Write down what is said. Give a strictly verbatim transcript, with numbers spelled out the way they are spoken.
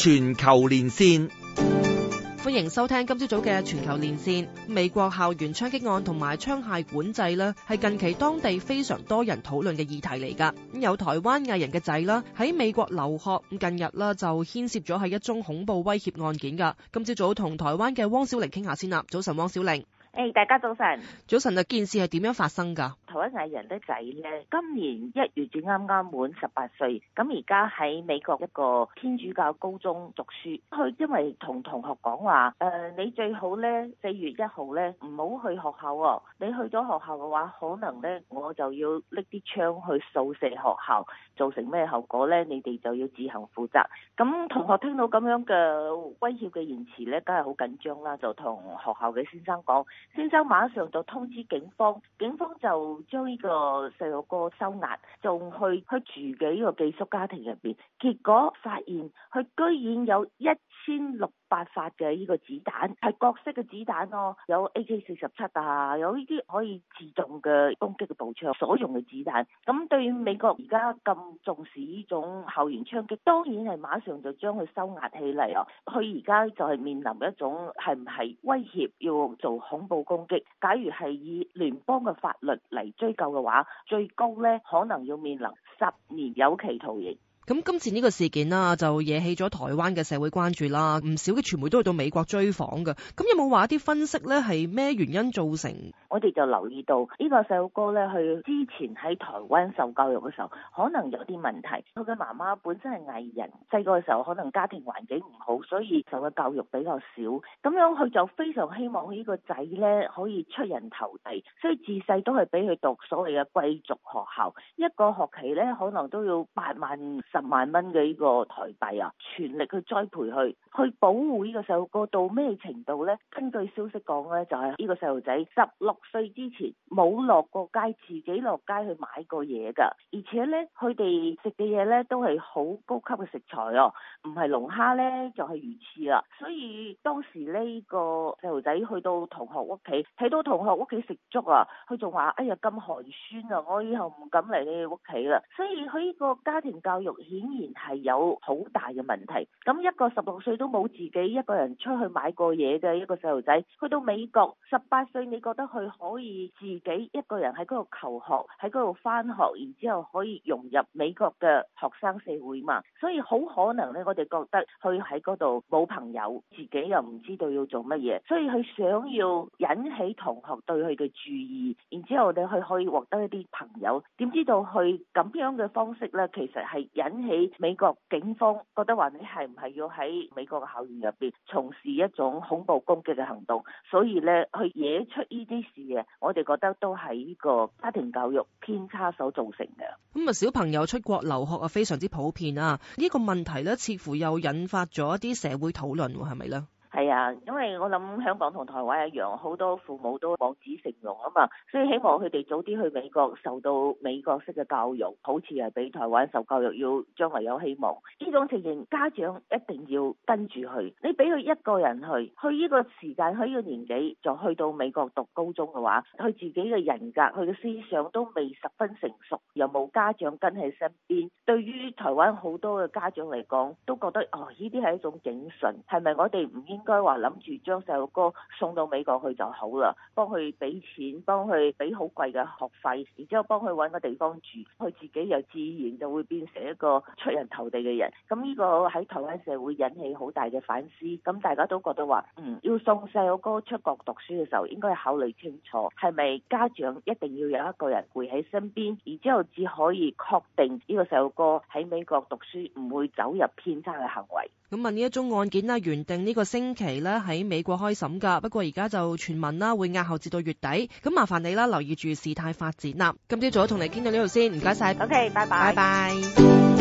全球連線， 歡迎收聽今朝早嘅全球連線。美國校園槍擊案同埋槍械管制呢，係近期當地非常多人討論嘅議題嚟㗎。咁有台灣藝人嘅仔啦，喺美國留學，近日啦就牽涉咗係一宗恐怖威脅案件㗎。今朝早同台灣嘅汪小玲傾下先啦。早晨，汪小玲。 誒，大家早晨。 早晨啊，件事係點樣發生㗎？ 台灣藝人的仔咧，今年一月至啱啱滿十八歲，咁而家喺美國一個天主教高中讀書。佢因為同同學講話，誒、呃，你最好咧四月一號咧唔好去學校喎、哦。你去咗學校嘅話，可能咧我就要拎啲槍去掃射學校，造成咩後果咧？你哋就要自行負責。咁同學聽到咁樣嘅威脅嘅言辭咧，梗係好緊張啦，就同學校嘅先生講。先生馬上就通知警方，警方就將呢個細路哥收押，仲去去住嘅呢個寄宿家庭入邊，結果發現佢居然有一千六百發嘅呢個子彈，係各式嘅子彈咯，有 A K 四十七啊，有呢啲可以自動嘅攻擊嘅步槍所用嘅子彈。咁對於美國而家咁重視呢種校園槍擊，當然係馬上就將佢收押起嚟咯。佢而家就係面臨一種係唔係威脅要做恐怖攻擊，假如係以聯邦嘅法律嚟追究嘅話，最高咧可能要面臨十年有期徒刑。 咁今次呢個事件啦，就惹起咗台灣嘅社會關注啦，唔少嘅傳媒都去到美國追訪㗎。咁有冇話一啲分析咧，係咩原因造成？ 我哋就留意到呢個細路哥咧，佢之前喺台灣受教育嘅時候，可能有啲問題。佢嘅媽媽本身係藝人，細個嘅時候可能家庭環境唔好，所以受嘅教育比較少。咁樣佢就非常希望呢個仔咧可以出人頭地，所以自細都係俾佢讀所謂嘅貴族學校，一個學期咧可能都要八萬十萬蚊嘅呢個台幣啊，全力去栽培佢，去保護呢個細路哥到咩程度咧？根據消息講咧，就係呢個細路仔十六歲之前冇落過街，自己落街去買過嘢㗎，而且咧佢哋食嘅嘢咧都係好高級嘅食材哦，唔係龍蝦咧就係魚翅啦。所以當時呢、呢個細路仔去到同學屋企，睇到同學屋企食粥啊，佢仲話：哎呀咁寒酸啊，我以後唔敢嚟你哋屋企啦。所以佢呢個家庭教育顯然係有好大嘅問題。咁一個十六歲都冇自己一個人出去買過嘢嘅一個細路仔，去到美國十八歲，你覺得佢可以自己一個人喺嗰度求學，喺嗰度返學，然之後可以融入美國嘅學生社會嘛？所以好可能咧，我哋覺得佢喺嗰度冇朋友，自己又唔知道要做乜嘢，所以佢想要引起同學對佢嘅注意，然之後咧佢可以獲得一啲朋友。點知道佢咁樣嘅方式咧，其實係引起美國警方覺得話你係唔係要喺美國嘅校園入邊從事一種恐怖攻擊嘅行動，所以咧去惹出呢啲事嘅，我哋覺得都係呢個家庭教育偏差所造成嘅。 咁啊，小朋友出國留學啊，非常之普遍啊，呢個問題咧，似乎又引發咗一啲社會討論，係咪咧？ 係啊，因為我諗香港同台灣一樣，好多父母都望子成龍啊嘛，所以希望佢哋早啲去美國受到美國式嘅教育，好似係俾台灣受教育，要將來有希望。呢種情形，家長一定要跟住去。你俾佢一個人去，去呢個時間，去呢個年紀就去到美國讀高中嘅話，佢自己嘅人格、佢嘅思想都未十分成熟，又冇家長跟喺身邊。對於台灣好多嘅家長嚟講，都覺得哦，呢啲係一種警訊，係咪我哋唔應應該話諗住將細路哥送到美國去就好啦，幫佢俾錢，幫佢俾好貴嘅學費，然之後幫佢揾個地方住，佢自己又自然就會變成一個出人頭地嘅人。咁呢個喺台灣社會引起好大嘅反思。咁大家都覺得話，嗯，要送細路哥出國讀書嘅時候，應該考慮清楚，係咪家長一定要有一個人陪喺身邊，然之後至可以確定呢個細路哥喺美國讀書唔會走入偏差嘅行為。 咁問呢一宗案件啦，原定呢個星期咧喺美國開審噶，不過而家就傳聞啦會押後至到月底。咁麻煩你啦，留意住事態發展啦。今朝早同你傾到呢度先，唔該晒。 OK，拜拜。 拜拜。